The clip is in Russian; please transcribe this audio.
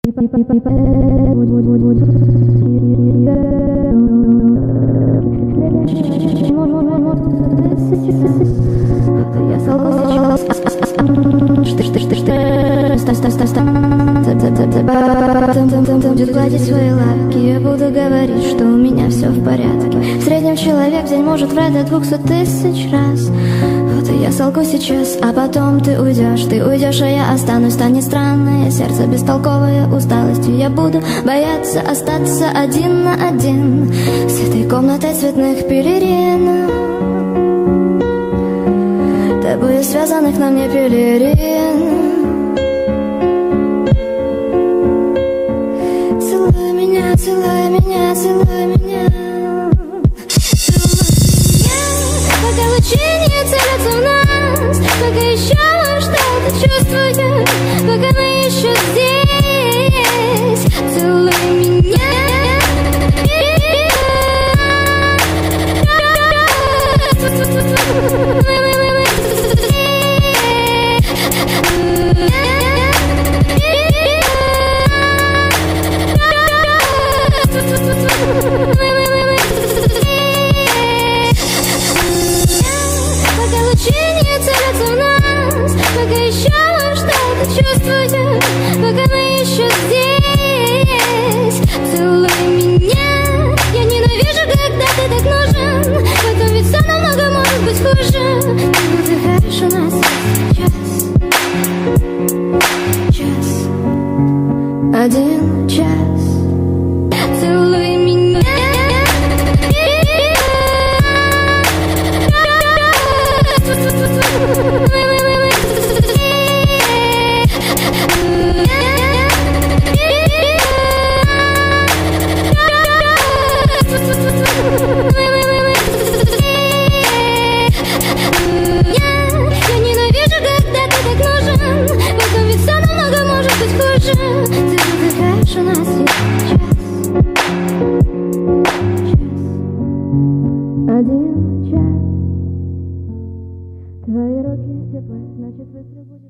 Будет гладить свои лапки, я буду говорить, что у меня все в порядке. В среднем человек в день может врать до 200 000 раз. Вот и я солгу сейчас, а потом ты уйдешь, а я останусь. Станет странное сердце, бестолковая усталостью. Я буду бояться остаться один на один с этой комнатой цветных пелерин, тобой связанных на мне пелерин. Целуй меня, целуй меня, целуй меня, пока лучи не целятся в нас, пока еще что-то чувствую, пока мы еще здесь. Целуй меня. Пока лучи не целятся в нас, пока еще что-то чувствую, пока мы еще здесь. Целуй меня. Я ненавижу, когда ты так нужен, потом ведь все намного может быть хуже. Ты выдыхаешь у нас час, один час. Целуй меня. Я ненавижу, когда ты так нужен, потом ведь все намного может быть хуже. Ты выдыхаешь у нас один час. Твои руки теплые, значит выстрел будет.